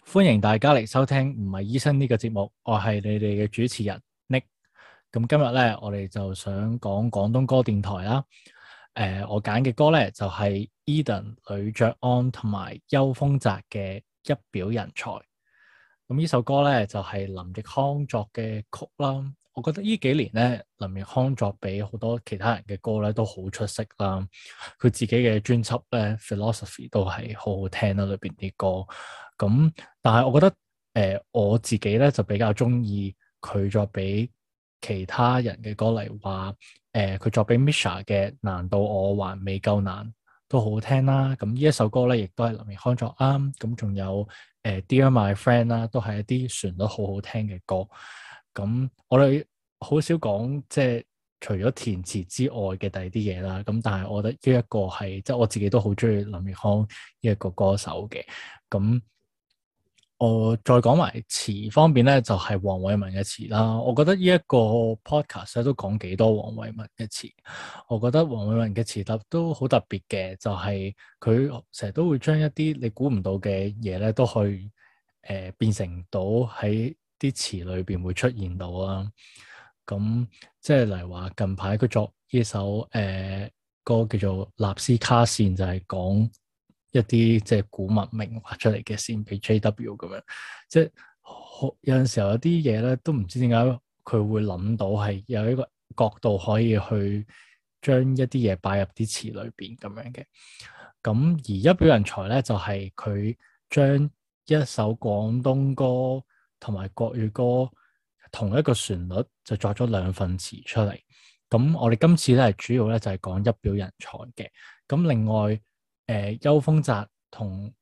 歡迎大家嚟收聽唔係醫生呢個節目，我係你哋嘅主持人 Nick。咁今日咧，我哋就想講廣東歌電台啦。我揀嘅歌咧就係 Edan、呂爵安同埋邱鋒澤嘅《一表人才》。咁呢首歌咧就係林奕匡作嘅曲啦。我覺得呢幾年咧，林奕匡作俾好多其他人嘅歌咧都好出色啦。佢自己嘅專輯咧《Philosophy》都係好好聽啦，裏邊啲歌。咁但係我覺得我自己咧就比較中意佢作俾其他人嘅歌，例如話佢作俾 Misha 嘅難道我還未夠難都好好聽啦。咁呢一首歌咧亦都係林奕匡作啱。咁仲有Dear My Friend 啦，都係一啲旋律好好聽嘅歌。咁我哋好少講即係除咗填詞之外嘅第二啲嘢啦。咁但係我覺得呢一個係即係我自己都好中意林奕匡呢一個歌手嘅。咁我再講埋詞方面咧，就係黃偉文嘅詞啦。我覺得呢一個 podcast 咧都講幾多黃偉文嘅詞。我覺得黃偉文嘅詞都好特別嘅，就係佢成日都會將一啲你估唔到嘅嘢咧，都去變成到喺啲詞裏邊會出現到啦。咁即係例如話近排佢作呢首歌叫做《納斯卡線》，就係講一啲即係古文明畫出嚟嘅線俾 JW 咁樣，即係有陣時候有啲嘢咧都唔知點解佢會諗到係有一個角度可以去將一啲嘢擺入啲詞裏邊咁樣嘅。咁而一表人才咧就係佢將一首廣東歌同埋國語歌同一個旋律就作咗兩份詞出嚟。咁我哋今次咧主要咧就係講一表人才嘅。咁另外邱鋒澤同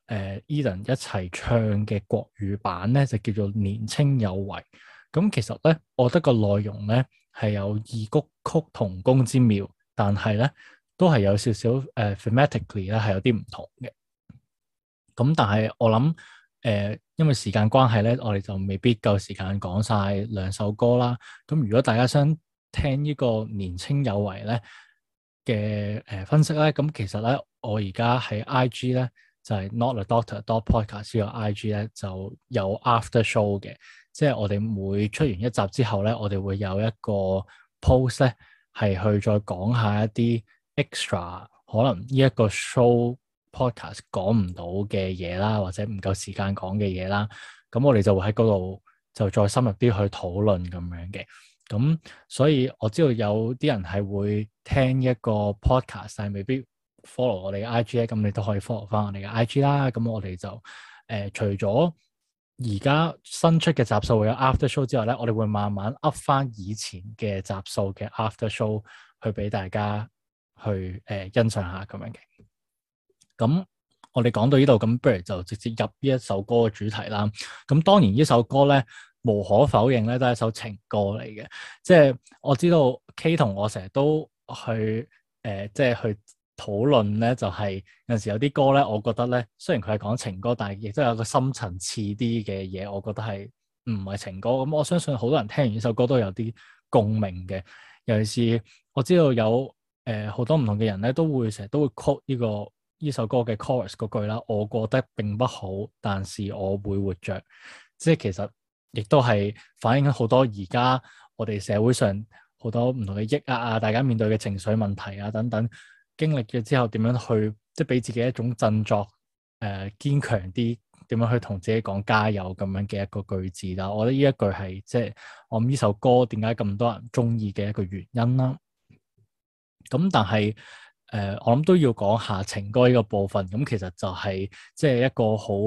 Edan 一齊唱嘅國語版咧就叫做年青有為。咁其實咧，我覺得個內容咧係有異曲同工之妙，但係咧都係有少少thematically 咧係有啲唔同嘅。咁但係我諗因為時間關係咧，我哋就未必夠時間講晒兩首歌啦。咁如果大家想聽呢個年青有為咧嘅分析咧，咁其實咧我而家喺 IG 咧就係 notadoctor.podcast 呢個 IG 咧就有 after show 嘅，即係我哋每出完一集之後咧，我哋會有一個 post 咧係去再講下一啲 extra 可能呢一個 show podcast 講唔到嘅嘢啦，或者唔夠時間講嘅嘢啦，咁我哋就會喺嗰度就再深入啲去討論咁樣嘅。咁所以我知道有啲人係會聽一個 podcast，但係未必 follow 我哋嘅 IG 咧，咁你都可以 follow 翻我哋嘅 IG 啦。咁我哋就除咗而家新出嘅集數會有 after show 之外咧，我哋會慢慢 up 翻以前嘅集數嘅 after show 去俾大家去欣賞下咁樣嘅。咁我哋講到呢度，咁不如就直接入呢一首歌嘅主題啦。咁當然呢首歌咧，無可否認咧，都係一首情歌嚟嘅。即係我知道 K 同我成日都去即係去討論咧，就係有陣時有啲歌咧，我覺得咧，雖然佢係講情歌，但係亦都有個深層次啲嘅嘢，我覺得係唔係情歌。咁我相信好多人聽完呢首歌都有啲共鳴嘅。尤其是我知道有好多唔同嘅人咧，都會成日都會 quote 呢首歌嘅 chorus 嗰句啦，我過得並不好，但是我會活着。即係其實亦都係反映緊好多而家我哋社會上好多唔同嘅抑壓啊，大家面對嘅情緒問題啊等等，經歷咗之後點樣去即係俾自己一種振作，堅強啲，點樣去同自己講加油咁樣嘅一個句子啦。我覺得呢一句係即係我諗呢首歌點解咁多人中意嘅一個原因啦。咁但係我諗都要講下情歌呢個部分。咁其實就係即係一個好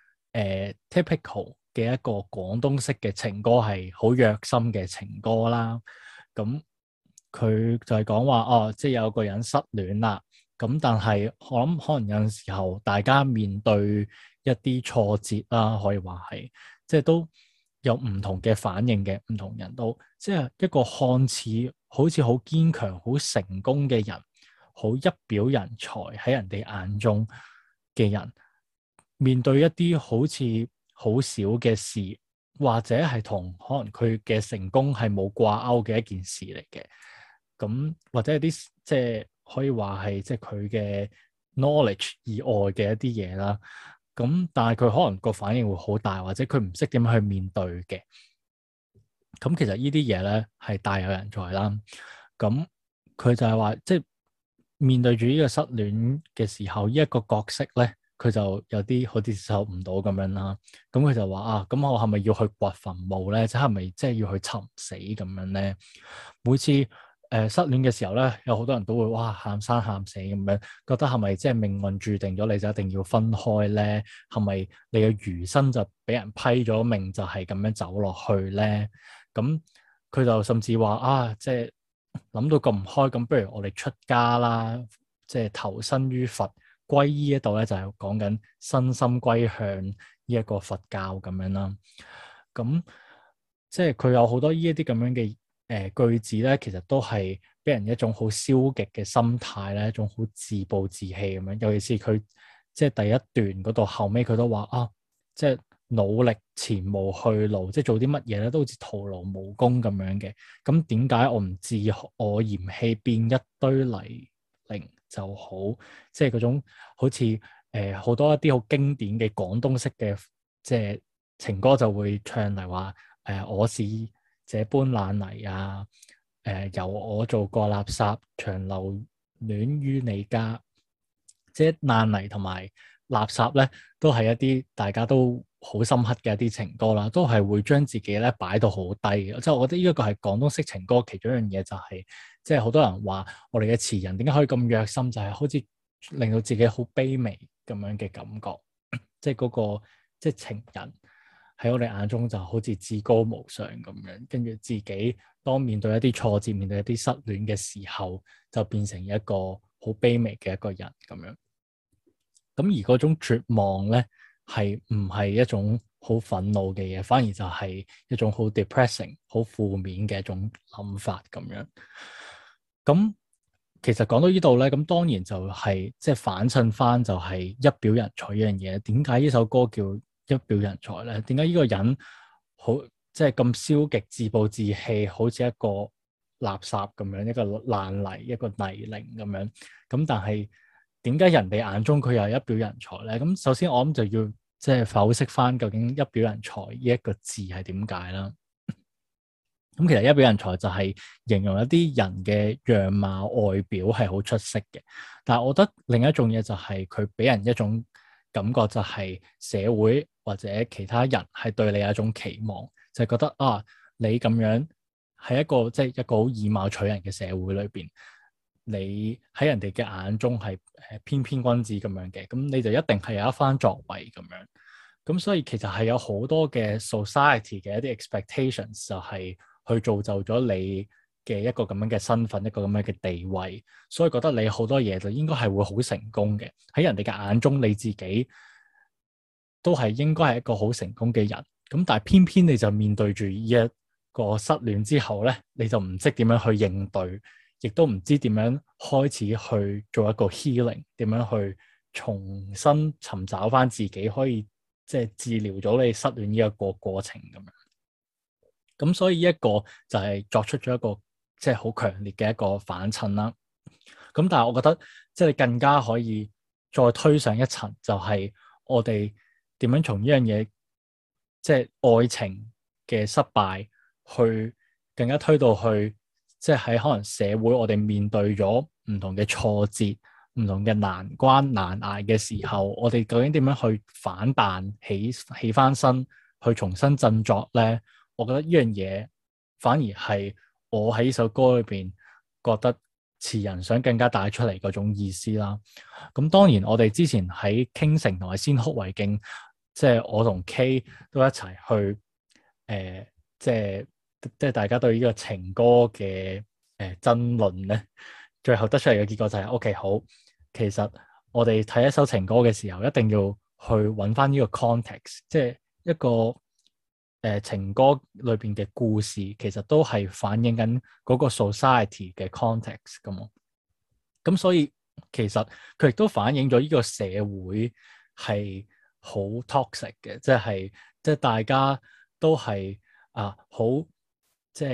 typical 嘅一個廣東式嘅情歌，係好虐心嘅情歌啦。咁佢就係講話哦，即係有個人失戀啦。咁但係我諗可能有陣時候大家面對一啲挫折啦，可以話係即係都有唔同嘅反應嘅，唔同人都即係一個看似好似好堅強、好成功嘅人，好一表人才喺人哋眼中嘅人，面對一啲好似好少嘅事，或者係同可能佢嘅成功係冇掛鈎嘅一件事嚟嘅，咁或者係啲即係可以話係即係佢嘅 knowledge 以外嘅一啲嘢啦。 咁但係佢可能個反應會好大，或者佢唔識點樣去面對嘅。咁其實呢啲嘢咧係大有人在啦。咁佢就係話，即係面對住呢個失戀嘅時候，呢一個角色咧，佢就有啲好接受唔到咁樣啦。咁佢就話啊，咁我係咪要去掘墳墓咧？即係咪即係要去尋死咁樣咧？每次失戀嘅時候咧，有好多人都會哇喊生喊死咁樣，覺得係咪即係命運注定咗你就一定要分開咧？係咪你嘅餘生就俾人批咗命就係咁樣走落去咧？咁佢就甚至話啊，即係諗到咁唔開，咁不如我哋出家啦，即係投身於佛，皈依呢度咧就係講緊身心歸向呢一個佛教咁樣啦。咁即係佢有好多呢一啲咁樣嘅句子咧，其實都係俾人一種好消極嘅心態咧，一種好自暴自棄咁樣。尤其是佢即係第一段嗰度後尾，佢都話啊，即係努力前無去路，即係做啲乜嘢咧都好似徒勞無功咁樣嘅。咁點解我唔自我嫌棄變一堆泥濘就好？即係嗰種好似好多一啲好經典嘅廣東式嘅即係情歌就會唱嚟話我是這般爛泥啊，由我做過垃圾，長留戀於你家。即係爛泥同埋垃圾咧，都係一啲大家都好深刻嘅一啲情歌啦，都係會將自己咧擺到好低嘅。即係我覺得呢一個係廣東式情歌其中一樣嘢，就係即係好多人話我哋嘅詞人點解可以咁虐心，就係好似令到自己好卑微咁樣嘅感覺。即係嗰個即係情人喺我哋眼中就好似至高無上咁樣，跟住自己當面對一啲挫折、面對一啲失戀嘅時候，就變成一個好卑微嘅一個人咁樣。咁而嗰種絕望咧，係唔係一種好憤怒嘅嘢，反而就係一種好 depressing、好負面嘅一種諗法咁樣。咁其實講到呢度咧，咁當然就係即係反襯翻就係一表人才呢樣嘢。點解呢首歌叫一表人才咧？點解呢個人好即係咁消極、自暴自棄，好似一個垃圾咁樣，一個爛泥、一個泥濘咁樣？咁但係點解人哋眼中佢又係一表人才咧？咁首先我諗就要即係剖析翻究竟一表人才呢一個字係點解啦。咁其實一表人才就係形容一啲人嘅樣貌外表係好出色嘅，但係我覺得另一種嘢就係佢俾人一種感覺，就係社會或者其他人係對你有一種期望，就係覺得啊，你咁樣喺一個即係一個好以貌取人嘅社會裏邊，你喺人哋嘅眼中係翩翩君子咁樣嘅，咁你就一定係有一番作為咁樣。咁所以其實係有好多嘅 society 嘅一啲 expectations 就係去造就咗你嘅一個咁樣嘅身份，一個咁樣嘅地位，所以覺得你好多嘢就應該係會好成功嘅。喺人哋嘅眼中，你自己都係應該係一個好成功嘅人。咁但係偏偏你就面對住呢一個失戀之後咧，你就唔識點樣去應對，亦都唔知點樣開始去做一個 healing，點樣去重新尋找翻自己，可以即係治療咗你失戀呢一個過程咁樣。咁所以呢一個就係作出咗一個即係好強烈嘅一個反襯啦。咁但係我覺得即係更加可以再推上一層，就係我哋點樣從呢樣嘢，即係愛情嘅失敗，去更加推到去，即係喺可能社會我哋面對咗唔同嘅挫折、唔同嘅難關難捱嘅時候，我哋究竟點樣去反彈起翻身，去重新振作咧？我覺得呢樣嘢反而係我喺呢首歌裏邊覺得詞人想更加帶出嚟嗰種意思啦。咁當然我哋之前喺傾城同埋先哭為敬，即係我同 K 都一齊去即係大家對呢個情歌嘅爭論咧，最後得出嚟嘅結果就係 OK 好。其實我哋睇一首情歌嘅時候，一定要去揾翻呢個 context，即係一個情歌裏邊嘅故事，其實都係反映緊嗰個 society 嘅 context 噶嘛。咁所以其實佢亦都反映咗呢個社會係好 toxic 嘅，即係大家都係好即係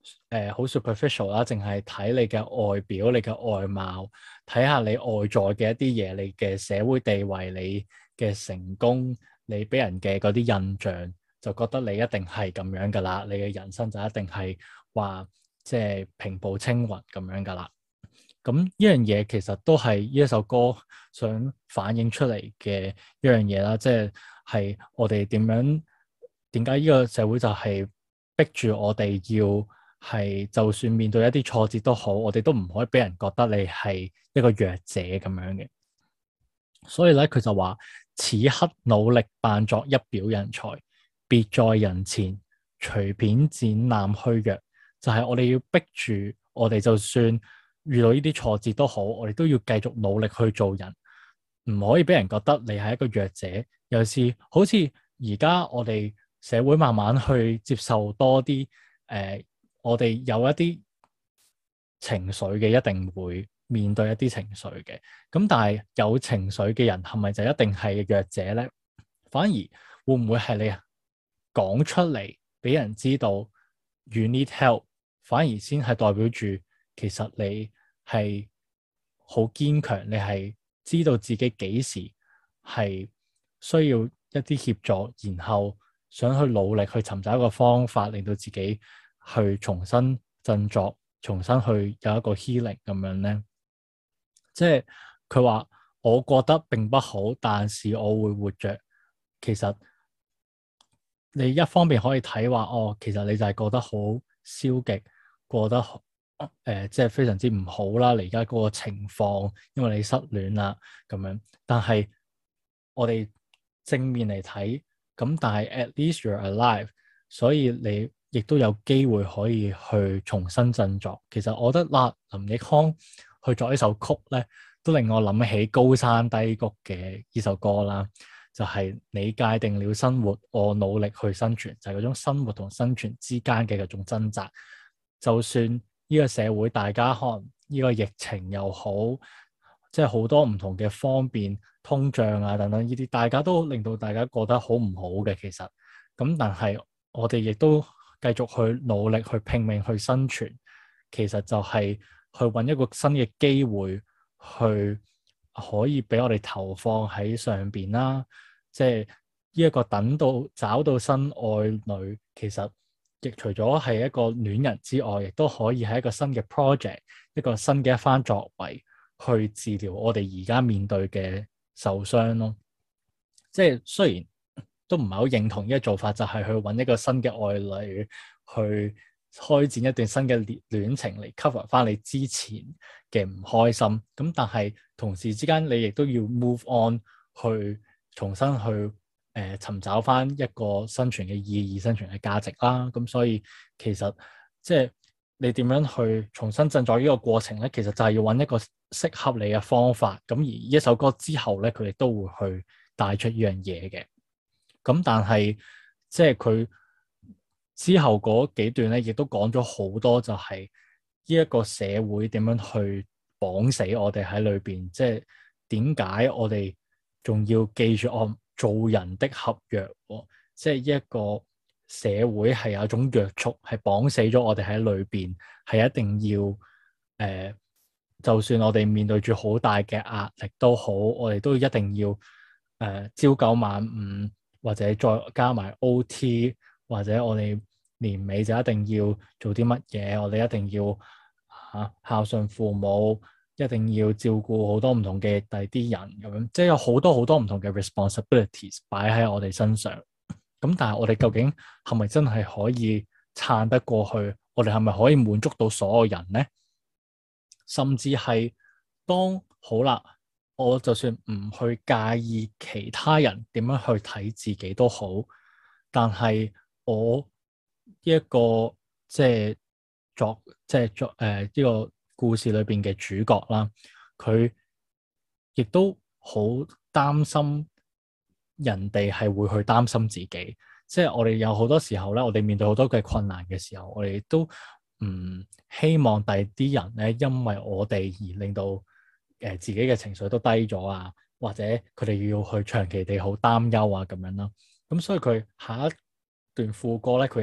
好 superficial 啦，淨係睇你嘅外表、你嘅外貌，睇下你外在嘅一啲嘢，你嘅社會地位、你嘅成功、你俾人嘅嗰啲印象，就覺得你一定係咁樣噶啦，你嘅人生就一定係話即係平步青雲咁樣噶啦。咁呢樣嘢其實都係呢一首歌想反映出嚟嘅一樣嘢啦，即係我哋點解呢個社會就係逼住我哋要係，就算面對一啲挫折都好，我哋都唔可以俾人覺得你係一個弱者咁樣嘅。所以咧，佢就話：此刻努力扮作一表人才，別在人前隨便展覽虛弱。就係我哋要逼住我哋，就算遇到呢啲挫折都好，我哋都要繼續努力去做人，唔可以俾人覺得你係一個弱者。尤其是好似而家我哋社會慢慢去接受多啲，我哋有一啲情緒嘅，一定會面對一啲情緒嘅。咁但係有情緒嘅人係咪就一定係弱者咧？反而會唔會係你講出嚟俾人知道 you need help，反而先係代表住其實你係好堅強，你係知道自己幾時係需要一啲協助，然後想去努力去尋找一個方法，令到自己去重新振作，重新去有一個 healing 咁樣咧。即係佢話，我覺得並不好，但是我會活着。其實你一方面可以睇話，哦，其實你就係覺得好消極，過得即係非常之唔好啦。你而家嗰個情況，因為你失戀啦咁樣。但係我哋正面嚟睇，咁但係 at least you're alive，所以你亦都有機會可以去重新振作。其實我覺得啦，林奕匡去作呢首曲咧，都令我諗起高山低谷嘅呢首歌啦。就係你界定了生活，我努力去生存，就係嗰種生活同生存之間嘅嗰種掙扎。就算呢個社會大家可能呢個疫情又好，即係好多唔同嘅方便、通脹啊等等呢啲，大家都令到大家覺得好唔好嘅。其實咁，但係我哋亦都繼續去努力去拼命去生存，其實就係去揾一個新嘅機會去可以俾我哋投放喺上邊啦。即係呢一個等到找到新愛侶，其實亦除咗係一個戀人之外，亦都可以係一個新嘅 project， 一個新嘅一番作為去治療我哋而家面對嘅受傷咯。即係雖然都唔係好認同呢個做法，就係去揾一個新嘅愛侶去開展一段新嘅戀情嚟 cover 翻你之前嘅唔開心。咁但係同時之間，你亦都要 move on 去重新去尋找翻一個生存嘅意義、生存嘅價值啦。咁所以其實即係你點樣去重新振作呢個過程咧，其實就係要揾一個適合你嘅方法。咁而呢一首歌之後咧，佢哋都會去帶出呢樣嘢嘅。咁但係即係佢之後嗰幾段咧，亦都講咗好多，就係呢一個社會點樣去綁死我哋喺裏邊。即係點解我哋仲要記住做人的合約？即係一個社會係有一種約束，係綁死咗我哋喺裏邊，係一定要就算我哋面對住好大嘅壓力都好，我哋都一定要朝九晚五，或者再加埋 OT， 或者我哋年尾就一定要做啲乜嘢，我哋一定要孝順父母，一定要照顧好多唔同嘅第啲人咁樣，即係有好多好多唔同嘅 responsibilities 擺喺我哋身上。咁但係我哋究竟係咪真係可以撐得過去？我哋係咪可以滿足到所有人呢？甚至係當好啦，我就算唔去介意其他人點樣去睇自己都好，但係我呢一個即係作呢個故事裏邊嘅主角啦，佢亦都好擔心人哋係會去擔心自己。即係我哋有好多時候咧，我哋面對好多嘅困難嘅時候，我哋都唔希望第啲人咧，因為我哋而令到自己嘅情緒都低咗啊，或者佢哋要去長期地好擔憂啊咁樣啦。咁所以佢下一段副歌咧，佢亦都話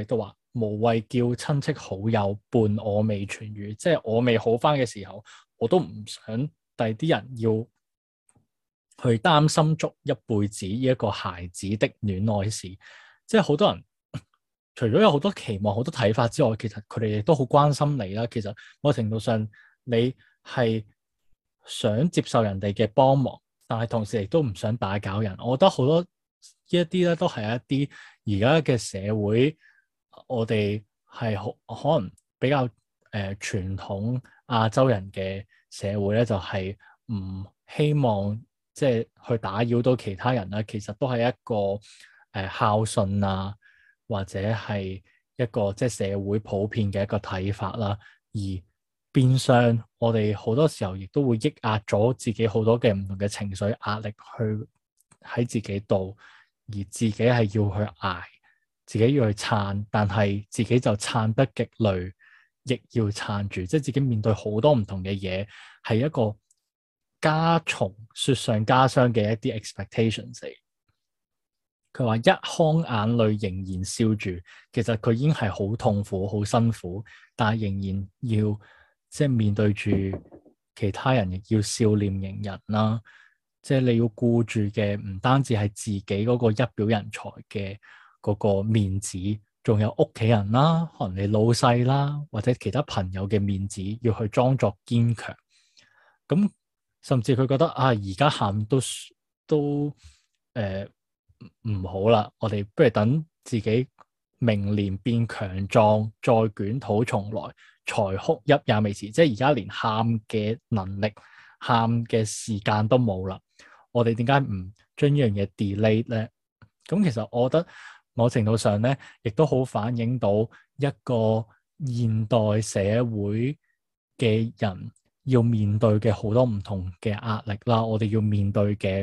無謂叫親戚好友伴我未痊癒，即係我未好翻嘅時候，我都唔想第啲人要去擔心足一輩子呢一個孩子的戀愛史。即係好多人除咗有好多期望、好多睇法之外，其實佢哋亦都好關心你啦。其實某程度上，你係想接受人哋嘅幫忙，但係同時亦都唔想打攪人。我覺得好多呢一啲咧，都係一啲而家嘅社會，我哋係可能比較傳統亞洲人嘅社會咧，就係唔希望即係去打擾到其他人啦。其實都係一個孝順啊，或者係一個即係社會普遍嘅一個睇法啦。而變相我哋好多時候亦都會抑壓咗自己好多嘅唔同嘅情緒壓力去喺自己度，而自己係要去捱，自己要去撐，但係自己就撐得極累，亦要撐住，即係自己面對好多唔同嘅嘢，係一個加重雪上加霜嘅一啲 expectations 嚟。佢話一腔眼淚仍然笑住，其實佢已經係好痛苦、好辛苦，但係仍然要即係面對住其他人，亦要笑臉迎人啦。即係你要顧住嘅唔單止係自己嗰個一表人才嘅嗰個面子，仲有屋企人啦，可能你老細啦，或者其他朋友嘅面子，要去裝作堅強。咁甚至佢覺得啊，而家喊都唔好啦，我哋不如等自己明年變強壯，再捲土重來，才哭泣也未遲。即係而家連喊嘅能力、喊嘅時間都冇啦。我哋點解唔將呢樣嘢 delay 咧？咁其實我覺得某程度上咧，亦都好反映到一個現代社會嘅人要面對嘅好多唔同嘅壓力啦。我哋要面對嘅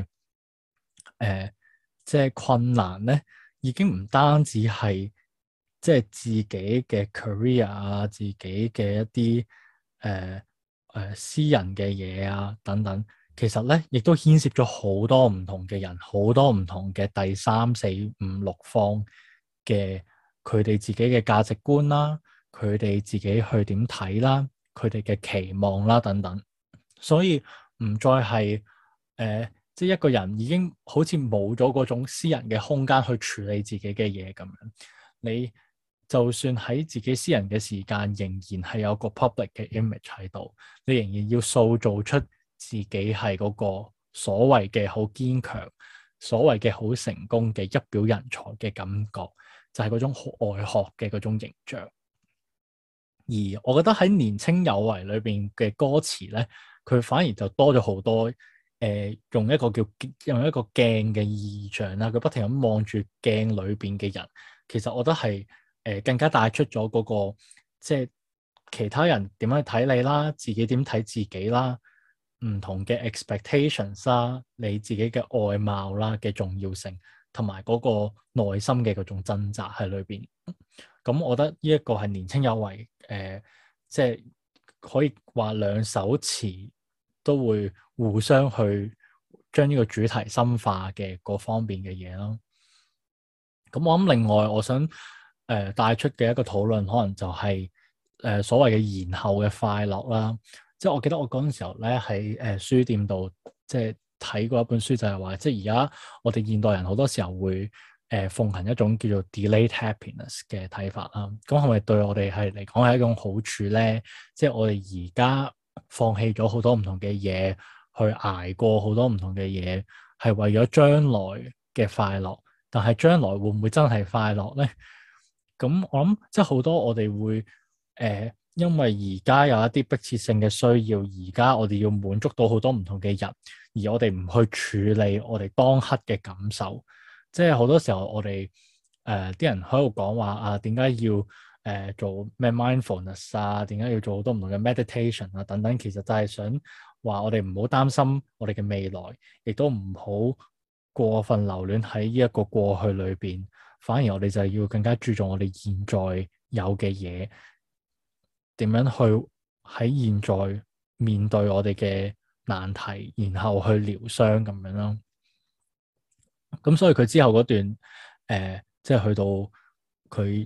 即係困難咧，已經唔單止係即係自己嘅 career 啊，自己嘅一啲私人嘅嘢啊等等，其實咧亦都牽涉咗好多唔同嘅人，好多唔同嘅第三、四、五、六方嘅佢哋自己嘅價值觀啦，佢哋自己去點睇啦，佢哋嘅期望啦等等，所以唔再係即係一個人已經好似冇咗嗰種私人嘅空間去處理自己嘅嘢咁樣。你就算喺自己私人嘅時間，仍然係有個 public 嘅 image 喺度，你仍然要塑造出自己係嗰個所謂嘅好堅強、所謂嘅好成功嘅一表人才嘅感覺，就係嗰種好外殼嘅嗰種形象。而我覺得喺年青有為裏邊嘅歌詞咧，佢反而就多咗好多。用一個鏡嘅意象啦，佢不停咁望住鏡裏邊嘅人，其實我覺得係更加帶出咗嗰個即係其他人點樣睇你啦，自己點睇自己啦，唔同嘅 expectations 啦，你自己嘅外貌啦嘅重要性，同埋嗰個內心嘅嗰種掙扎喺裏邊。咁我覺得呢一個係年青有為，即係可以話兩首詞都會互相去將呢個主題深化嘅嗰方面嘅嘢咯。咁我諗另外我想帶出嘅一個討論，可能就係所謂嘅延後嘅快樂啦。即係我記得我嗰陣時候咧喺書店度即係睇過一本書，就係話即係而家我哋現代人好多時候會奉行一種叫做 delayed happiness 嘅睇法啦。咁係咪對我哋係嚟講係一種好處咧？即係我哋而家放棄咗好多唔同嘅嘢，去捱過好多唔同嘅嘢，係為咗將來嘅快樂。但係將來會唔會真係快樂咧？咁我諗即係好多我哋會因為而家有一啲迫切性嘅需要，而家我哋要滿足到好多唔同嘅人，而我哋唔去處理我哋當刻嘅感受。即係好多時候我哋啲人喺度講話啊，點解要做咩 mindfulness 啊？點解要做好多唔同嘅 meditation 啊？等等，其實就係想話我哋唔好擔心我哋嘅未來，亦都唔好過分留戀喺呢一個過去裏邊，反而我哋就係要更加注重我哋現在有嘅嘢，點樣去喺現在面對我哋嘅難題，然後去療傷咁樣咯。咁所以佢之後嗰段即係去到佢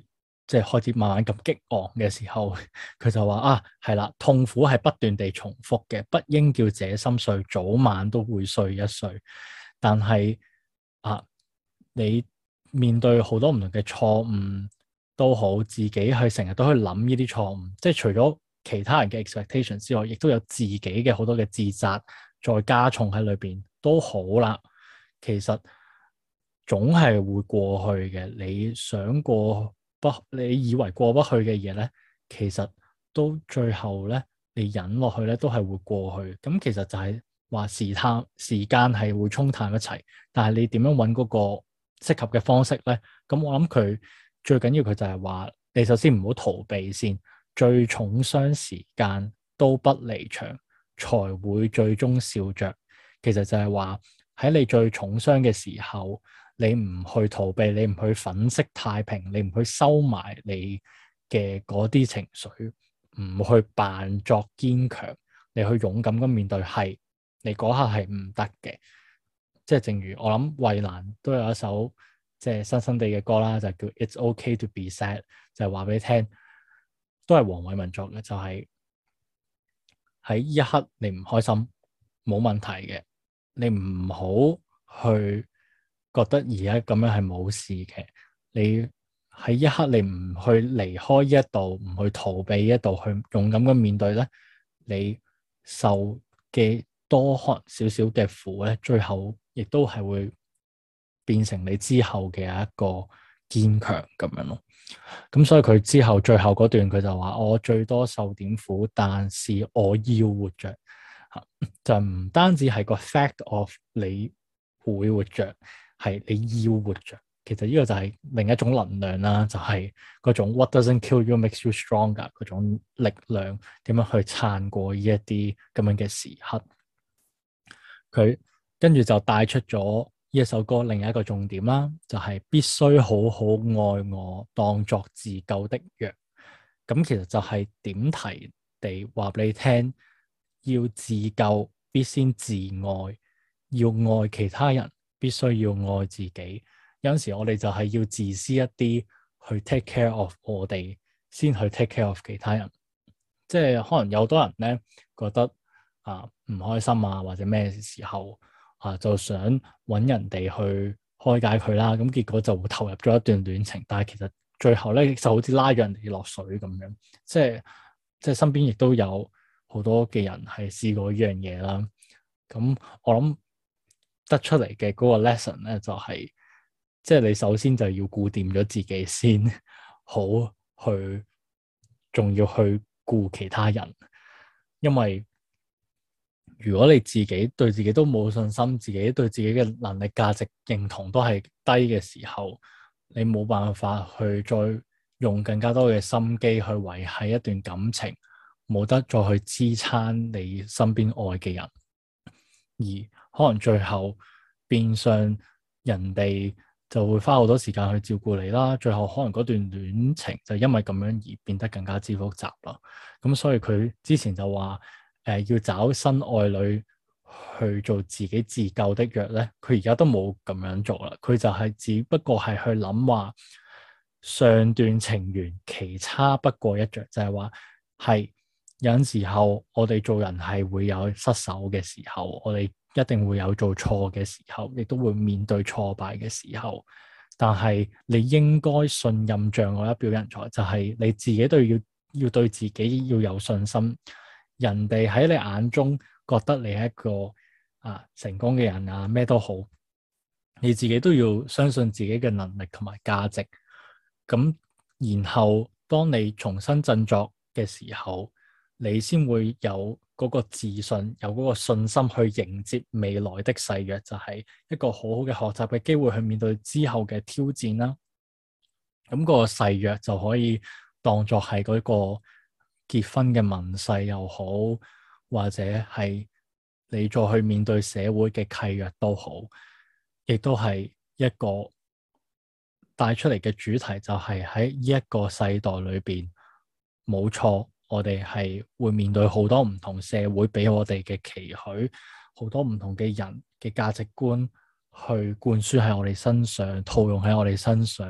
即係開始慢慢咁激昂嘅時候，佢就話啊，係啦，痛苦係不斷地重複嘅，不應叫這心碎，早晚都會碎一碎。但係啊，你面對好多唔同嘅錯誤都好，自己去成日都去諗呢啲錯誤，即係除咗其他人嘅 expectation 之外，亦都有自己嘅好多嘅自責再加重喺裏邊都好啦。其實總係會過去嘅，你想過你以為過不去嘅嘢咧，其實都最後咧，你忍落去咧，都係會過去。咁其實就係話時間係會沖淡一切，但係你點樣揾嗰個適合嘅方式咧？咁我諗佢最緊要佢就係話，你首先唔好逃避先，最重傷時間都不離場，才會最終笑着。其實就係話喺你最重傷嘅時候，你唔去逃避，你唔去粉飾太平，你唔去收埋你嘅嗰啲情緒，唔去扮作堅強，你去勇敢咁面對，係你嗰刻係唔得嘅。即係正如我諗衛蘭都有一首即係新新地嘅歌啦，就叫 It's OK to be sad， 就係話俾你聽，都係黃偉文作嘅，就係喺呢一刻你唔開心冇問題嘅，你唔好去覺得而家咁樣係冇事嘅，你喺一刻你唔去離開呢一度，唔去逃避呢一度，去勇敢咁面對咧，你受嘅多可能少少嘅苦咧，最後亦都係會變成你之後嘅一個堅強咁樣咯。咁所以佢之後最後嗰段佢就話：我最多受點苦，但是我要活着。就唔單止係個 fact of 你會活着，係你要活着。其實呢個就係另一種能量啦，就係嗰種 what doesn't kill you makes you stronger 嗰種力量，點樣去撐過呢一啲咁樣嘅時刻。佢跟住就帶出咗呢一首歌另一個重點啦，就係必須好好愛我，當作自救的藥。咁其實就係點題地話俾你聽，要自救必先自愛，要愛其他人必須要愛自己。有陣時我哋就係要自私一啲去 take care of 我哋，先去 take care of 其他人。即係可能有好多人咧覺得唔開心啊，或者咩時候就想揾人哋去開解佢啦，咁結果就會投入咗一段戀情，但係其實最後咧就好似拉咗人哋落水咁樣，即係身邊亦都有好多嘅人係試過呢樣嘢啦。咁我諗得出嚟嘅嗰個 lesson 咧就係，即係你首先就要顧掂咗自己先，好去仲要去顧其他人，因為如果你自己對自己都冇信心，自己對自己嘅能力價值認同都係低嘅時候，你冇辦法去再用更加多嘅心機去維繫一段感情，冇得再去支撐你身邊愛嘅人，而可能最後變相人哋就會花好多時間去照顧你啦，最後可能嗰段戀情就因為咁樣而變得更加之複雜啦。咁所以佢之前就話要找新愛侶去做自己自救的藥咧，佢而家都冇咁樣做啦。佢就係只不過係去諗話上段情緣其差不過一着，就係話係有陣時候我哋做人係會有失手嘅時候，我哋一定會有做錯嘅時候，亦都會面對挫敗嘅時候。但係你應該信任障礙一表人才，就係你自己都要對自己要有信心。人哋喺你眼中覺得你係一個成功嘅人啊，咩都好，你自己都要相信自己嘅能力同埋價值。咁然後當你重新振作嘅時候，你先會有嗰個自信，有嗰個信心去迎接未來的誓約，就係一個好好嘅學習嘅機會去面對之後嘅挑戰啦。咁個誓約就可以當作係嗰個結婚嘅盟誓又好，或者係你再去面對社會嘅契約都好，亦都係一個帶出嚟嘅主題，就係喺呢一個世代裏邊，冇錯，我哋係會面對好多唔同社會俾我哋嘅期許，好多唔同嘅人嘅價值觀去灌輸喺我哋身上，套用喺我哋身上，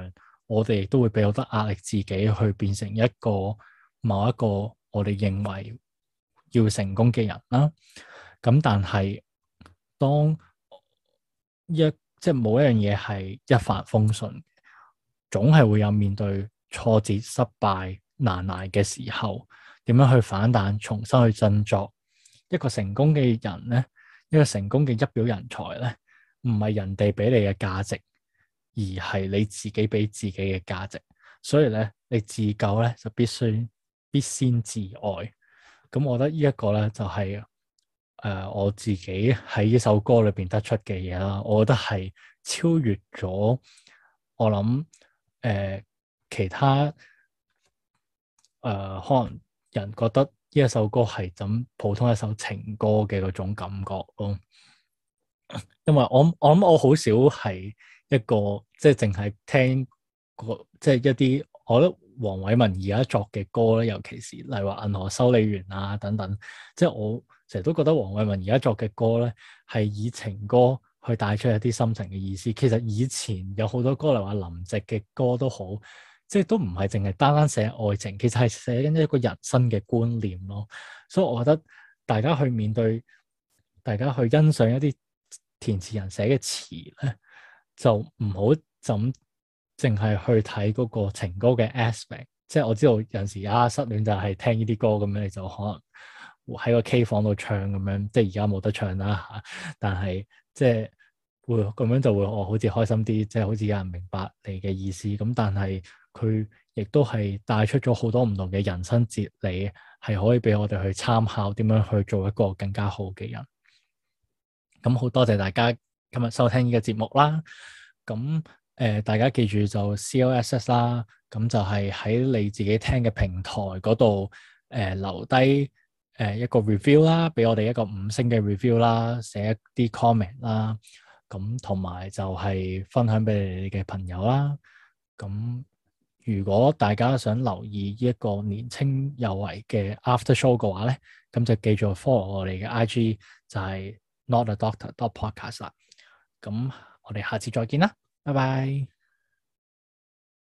我哋亦都會俾好多壓力自己去變成某一個我哋認為要成功嘅人啦。咁但係當即係冇一樣嘢係一帆風順，總係會有面對挫折、失敗、難捱嘅時候，點樣去反彈、重新去振作。一個成功嘅人咧，一個成功嘅一表人才咧，唔係人哋俾你嘅價值，而係你自己俾自己嘅價值。所以咧，你自救咧就必先自愛。咁我覺得呢一個咧就係我自己喺呢首歌裏邊得出嘅嘢啦。我覺得係超越咗我諗其他可能人覺得呢一首歌係咁普通一首情歌嘅嗰種感覺咯。因為我諗我好少係一個即係淨係聽即係一啲我覺得黃偉文而家作嘅歌咧，尤其是例如話銀河修理員啊等等，即係我成日都覺得黃偉文而家作嘅歌咧係以情歌去帶出一啲深層嘅意思。其實以前有好多歌，例如話林夕嘅歌都好，即係都唔係淨係單單寫愛情，其實係寫緊一個人生嘅觀念咯。所以我覺得大家去面對，大家去欣賞一啲填詞人寫嘅詞咧，就唔好就咁淨係去睇嗰個情歌嘅 aspect。即係我知道有陣時失戀就係聽呢啲歌咁樣，你就可能喺個 K 房度唱咁樣，即係而家冇得唱啦嚇。但係即係會咁樣就會好似開心啲，即係好似有人明白你嘅意思。咁但係佢亦都係帶出咗好多唔同嘅人生哲理，係可以俾我哋去參考點樣去做一個更加好嘅人。咁好多謝大家今日收聽呢個節目啦。咁大家記住就 CLSS 啦，咁就係喺你自己聽嘅平台嗰度留低一個 review 啦，俾我哋一個5星嘅 review 啦，寫一啲 comment 啦，咁同埋就係分享俾你哋嘅朋友啦。咁如果大家想留意呢一個年青有為嘅 after show 嘅話咧，咁就記住 follow 我哋嘅 IG 就係 notadoctor.podcast 啦。咁我哋下次再見啦，拜拜。